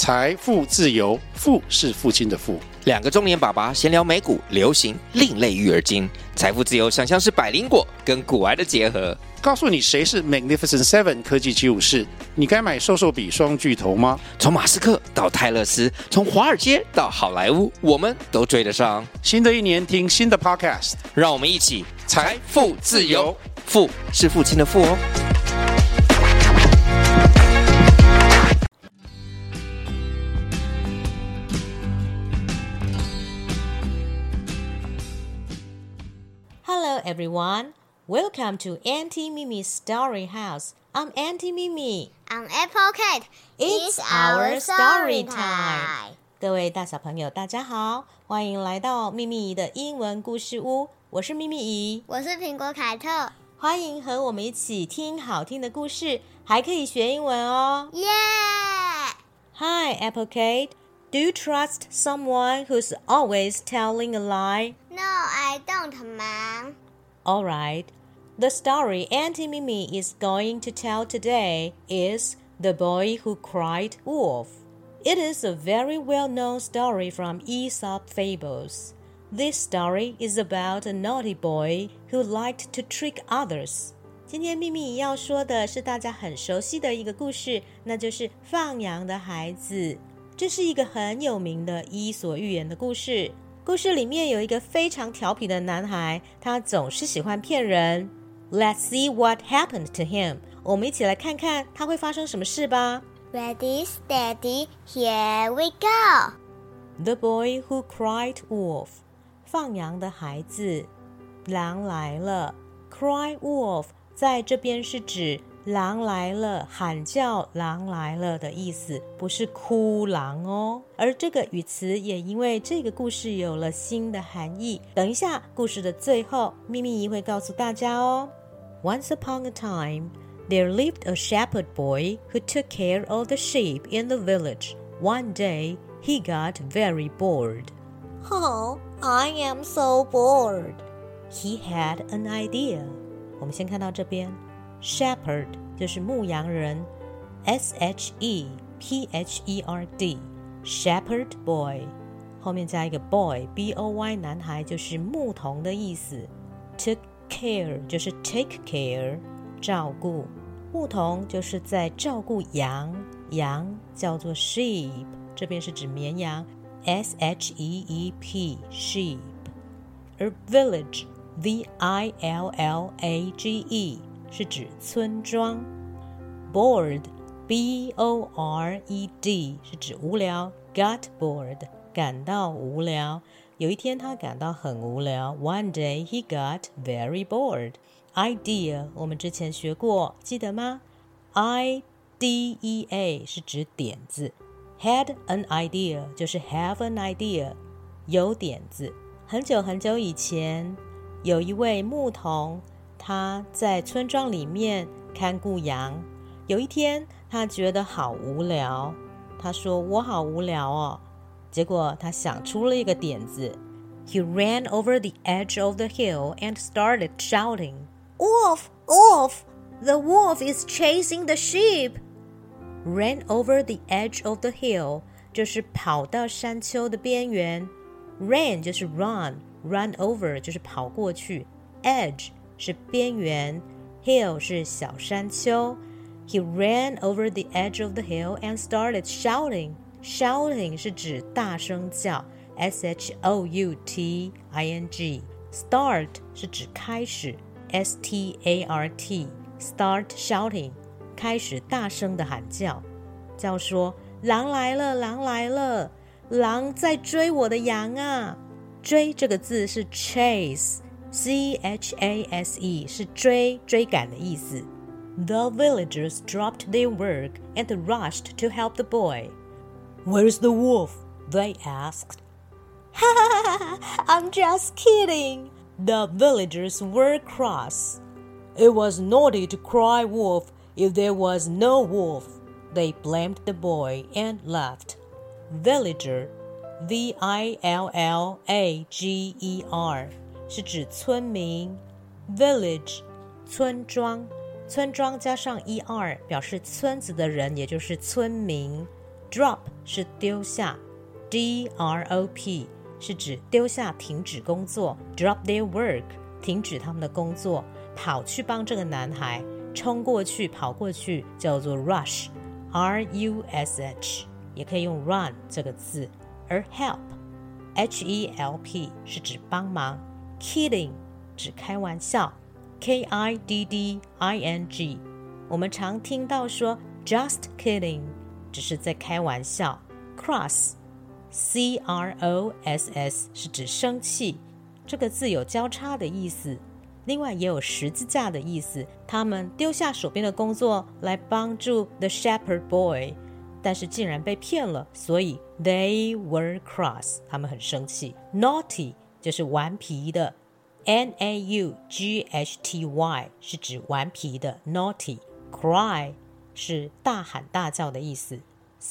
财富自由，富是父亲的富。 两个中年爸爸闲聊美股、流行、另类育儿经，财富自由想象是百灵果跟股癌的结合。 告诉你谁是 Magnificent Seven 科技75士，你该买瘦瘦比双巨头吗？ 从马斯克到泰勒斯，从华尔街到好莱坞，我们都追得上。 新的一年听新的 Podcast， 让我们一起财富自由， 富是父亲的富哦。 Hello everyone, welcome to Auntie Mimi's Story House. I'm Auntie Mimi. I'm Apple Cat. It's our story time. 各位大小朋友大家好，欢迎来到秘密姨的英文故事屋，我是秘密姨， 我是苹果凯特， 欢迎和我们一起听好听的故事，还可以学英文哦。 耶、 Hi Apple Cat, do you trust someone who's always telling a lie? No, I don't, Mom. Alright, the story Auntie Mimi is going to tell today is The Boy Who Cried Wolf. It is a very well-known story from Aesop Fables. This story is about a naughty boy who liked to trick others. 今天秘密要说的是大家很熟悉的一个故事，那就是放羊的孩子。这是一个很有名的伊索寓言的故事。故事里面有一个非常调皮的男孩，他总是喜欢骗人。Let's see what happened to him. 我们一起来看看他会发生什么事吧。 Ready, steady, here we go. The boy who cried wolf. 放羊的孩子，狼来了。Cry wolf 在这边是指狼来了，喊叫狼来了的意思，不是哭狼哦。而这个语词也因为这个故事有了新的含义。等一下故事的最后，秘密姨会告诉大家哦。Once upon a time, there lived a shepherd boy who took care of the sheep in the village. One day, he got very bored. Oh, I am so bored. He had an idea. 我们先看到这边Shepherd 就是牧羊人 S-H-E-P-H-E-R-D Shepherd boy 后面加一个 boy B-O-Y 男孩就是牧童的意思 Took care 就是 take care 照顾牧童就是在照顾羊羊叫做 sheep 这边是指绵羊 S-H-E-E-P sheep 而 village V-I-L-L-A-G-E是指村庄 Bored B-O-R-E-D 是指无聊 Got bored 感到无聊有一天他感到很无聊 One day he got very bored Idea 我们之前学过记得吗 I-D-E-A 是指点子 Had an idea 就是 have an idea 有点子很久很久以前有一位牧童他在村庄里面看顾羊有一天他觉得好无聊他说我好无聊哦结果他想出了一个点子 He ran over the edge of the hill and started shouting Wolf! Wolf! The wolf is chasing the sheep! Ran over the edge of the hill 就是跑到山丘的边缘 Ran 就是 run Run over 就是跑过去 Edge是边缘 Hill 是小山丘 He ran over the edge of the hill and started shouting Shouting 是指大声叫 S-H-O-U-T-I-N-G Start 是指开始 S-T-A-R-T Start shouting 开始大声的喊叫叫说狼来了狼来了狼在追我的羊啊追这个字是 chase C-H-A-S-E 是追赶的意思 The villagers dropped their work and rushed to help the boy Where's the wolf? They asked I'm just kidding The villagers were cross It was naughty to cry wolf if there was no wolf They blamed the boy and laughed Villager V-I-L-L-A-G-E-R 是指村民 Village 村庄村庄加上 er 表示村子的人也就是村民 Drop 是丢下， D-R-O-P 是指丢下停止工作， Drop their work 停止他们的工作，跑去帮这个男孩，冲过去跑过去叫做 rush R-U-S-H 也可以用 run 这个字。而 help H-E-L-P 是指帮忙， kidding 指开玩笑， K-I-D-D-I-N-G 我们常听到说 just kidding 只是在开玩笑。 cross C-R-O-S-S 是指生气，这个字有交叉的意思，另外也有十字架的意思。他们丢下手边的工作来帮助 the shepherd boy， 但是竟然被骗了，所以 they were cross 他们很生气。 naughty 就是顽皮的， N-A-U-G-H-T-Y 是指顽皮的 naughty。 cry 是大喊大叫的意思，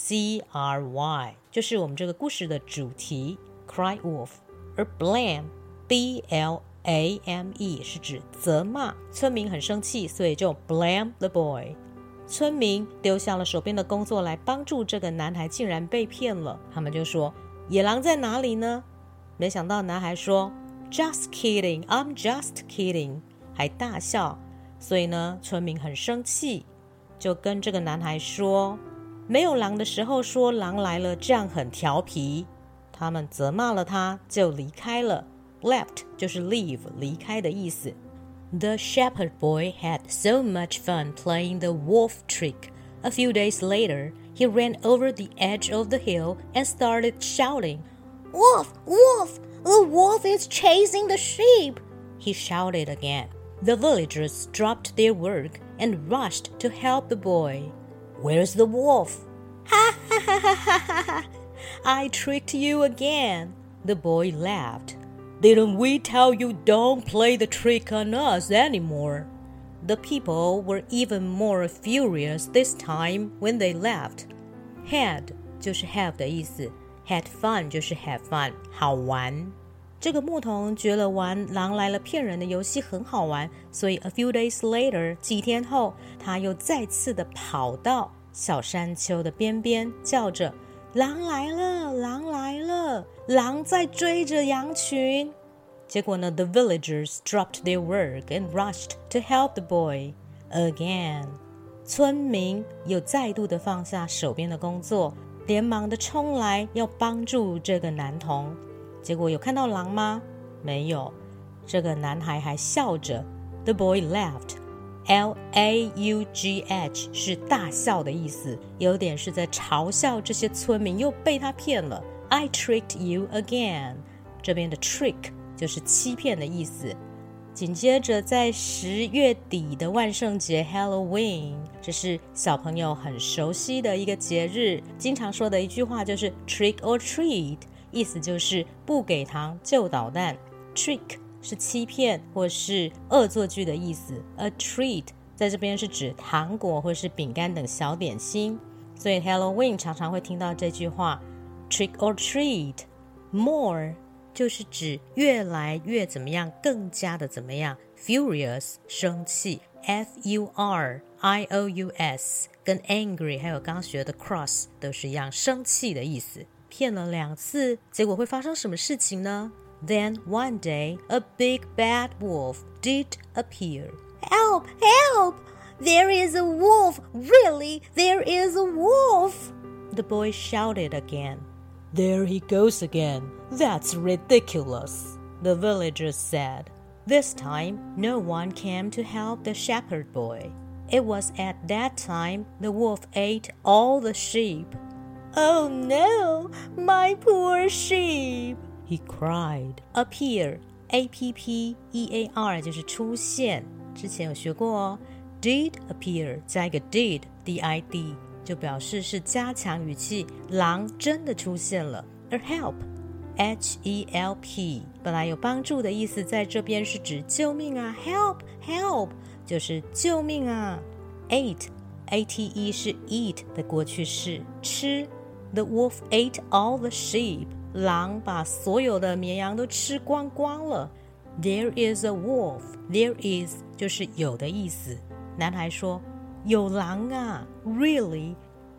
C-R-Y 就是我们这个故事的主题 cry wolf。 而 blame B-L-A-M-E 是指责骂，村民很生气，所以就 blame the boy。 村民丢下了手边的工作来帮助这个男孩，竟然被骗了，他们就说野狼在哪里呢？没想到男孩说 just kidding I'm just kidding 还大笑，所以呢村民很生气，就跟这个男孩说没有狼的时候说狼来了，这样很调皮。他们责骂了他，就离开了。 Left 就是 leave 离开的意思。 The shepherd boy had so much fun playing the wolf trick. A few days later, he ran over the edge of the hill and started shouting, Wolf! Wolf! The wolf is chasing the sheep! He shouted again. The villagers dropped their work and rushed to help the boy. Where's the wolf? Ha ha ha ha ha ha! I tricked you again. The boy laughed. Didn't we tell you don't play the trick on us anymore? The people were even more furious this time when they left. Had 就是 have 的意思， had fun 就是 have fun 好玩。这个牧童觉得玩狼来了骗人的游戏很好玩，所以 a few days later 几天后，他又再次的跑到小山丘的边边，叫着狼来了，狼来了，狼在追着羊群。结果呢 the villagers dropped their work and rushed to help the boy again. 村民又再度的放下手边的工作，连忙的冲来要帮助这个男童。结果有看到狼吗？没有。这个男孩还笑着。 The boy laughed. L-A-U-G-H 是大笑的意思，有点是在嘲笑这些村民又被他骗了。 I tricked you again. 这边的 trick 就是欺骗的意思。紧接着在10月底的万圣节 Halloween， 这是小朋友很熟悉的一个节日，经常说的一句话就是 trick or treat， 意思就是不给糖就捣蛋。 trick 是欺骗或是恶作剧的意思，而 treat 在这边是指糖果或是饼干等小点心，所以 Halloween 常常会听到这句话 trick or treat。 More 就是指越来越怎么样，更加的怎么样。 Furious 生气， F-U-R-I-O-U-S 跟 angry 还有刚学的 cross 都是一样，生气的意思。骗了2次，结果会发生什么事情呢？ Then one day a big bad wolf did appear. Help! Help! There is a wolf! Really, there is a wolf! The boy shouted again. There he goes again. That's ridiculous, the villagers said. This time, no one came to help the shepherd boy. It was at that time the wolf ate all the sheep. Oh no, my poor sheep! He cried. Appear, A-P-P-E-A-R 就是出现，之前有学过哦。Did appear 加一个 did, D-I-D 就表示是加强语气，狼真的出现了。而 help H-E-L-P 本来有帮助的意思，在这边是指救命啊， help help 就是救命啊。 Ate A-T-E 是 eat 的过去式，吃。 The wolf ate all the sheep 狼把所有的绵羊都吃光光了。 There is a wolf. There is 就是有的意思。男孩说有狼啊， Really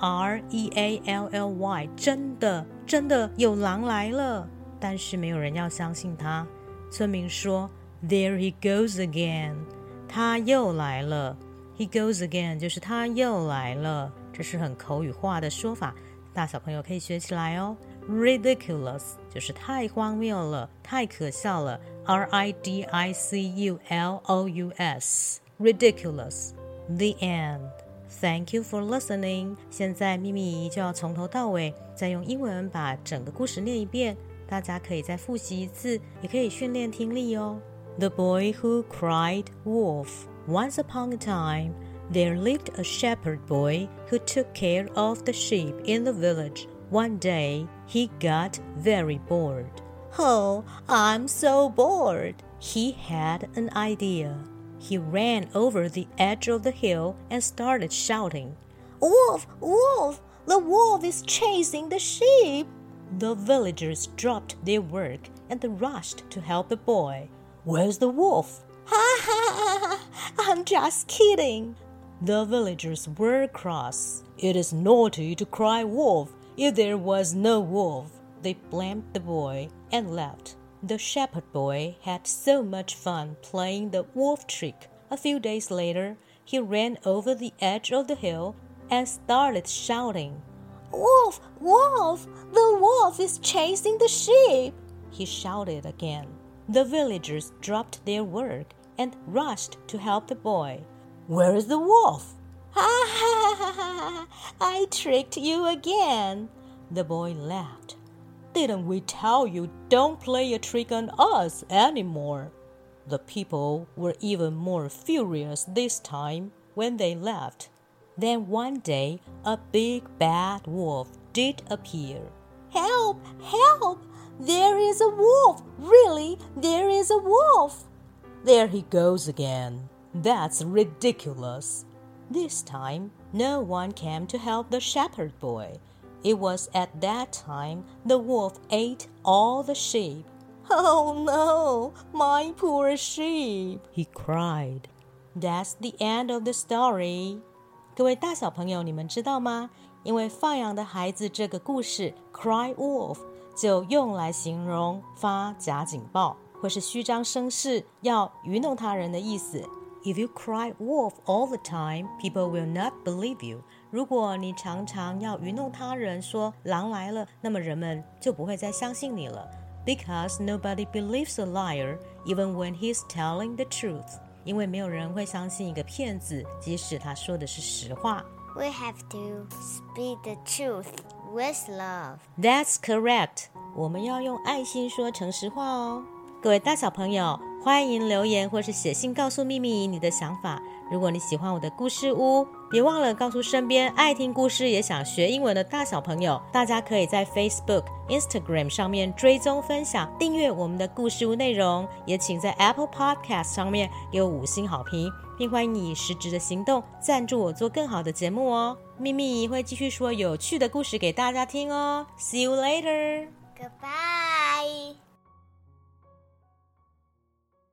Really 真的有狼来了，但是没有人要相信他。村民说 There he goes again， 他又来了。 He goes again 就是他又来了，这是很口语化的说法，大小朋友可以学起来哦。Ridiculous 就是太荒谬了，太可笑了。Ridiculous Ridiculous The end. Thank you for listening. 现在咪咪就要从头到尾再用英文把整个故事念一遍，大家可以再复习一次，也可以训练听力哦。The boy who cried wolf. Once upon a time, there lived a shepherd boy who took care of the sheep in the village. One day, he got very bored. Oh, I'm so bored. He had an idea. He ran over the edge of the hill and started shouting. Wolf, wolf, the wolf is chasing the sheep. The villagers dropped their work and rushed to help the boy. Where's the wolf? Ha ha ha, I'm just kidding. The villagers were cross. It is naughty to cry wolf if there was no wolf. They blamed the boy and left. The shepherd boy had so much fun playing the wolf trick. A few days later, he ran over the edge of the hill and started shouting. Wolf, wolf, the wolf is chasing the sheep. He shouted again. The villagers dropped their work and rushed to help the boy. Where is the wolf? Ha ha ha ha, I tricked you again. The boy laughed. Didn't we tell you don't play a trick on us anymore? The people were even more furious this time when they left. Then one day, a big bad wolf did appear. Help, help! There is a wolf! Really, there is a wolf! There he goes again. That's ridiculous. This time, no one came to help the shepherd boy. It was at that time the wolf ate all the sheep. Oh no, my poor sheep, he cried. That's the end of the story. 各位大小朋友，你们知道吗？因为放羊的孩子这个故事 Cry Wolf 就用来形容发假警报或是虚张声势，要愚弄他人的意思。If you cry wolf all the time, people will not believe you. 如果你常常要愚弄他人说狼来了，那么人们就不会再相信你了。Because nobody believes a liar, even when he's telling the truth. 因为没有人会相信一个骗子，即使他说的是实话。 We have to speak the truth with love. That's correct. 我们要用爱心说诚实话哦。各位大小朋友，欢迎留言或是写信告诉秘密你的想法。如果你喜欢我的故事屋，别忘了告诉身边爱听故事也想学英文的大小朋友。大家可以在 Facebook、Instagram 上面追踪分享，订阅我们的故事屋内容，也请在 Apple Podcast 上面给我5星好评，并欢迎你以实质的行动赞助我做更好的节目哦。秘密会继续说有趣的故事给大家听哦。See you later. Goodbye.